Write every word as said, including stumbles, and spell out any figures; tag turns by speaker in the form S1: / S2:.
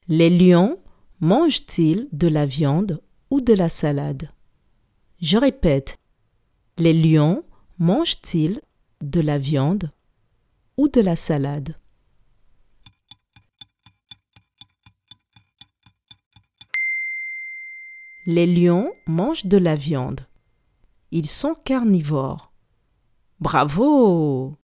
S1: Les lions mangent-ils de la viande ou de la salade? Je répète, les lions mangent-ils de la viande ou de la salade? Les lions mangent de la viande. Ils sont carnivores. Bravo!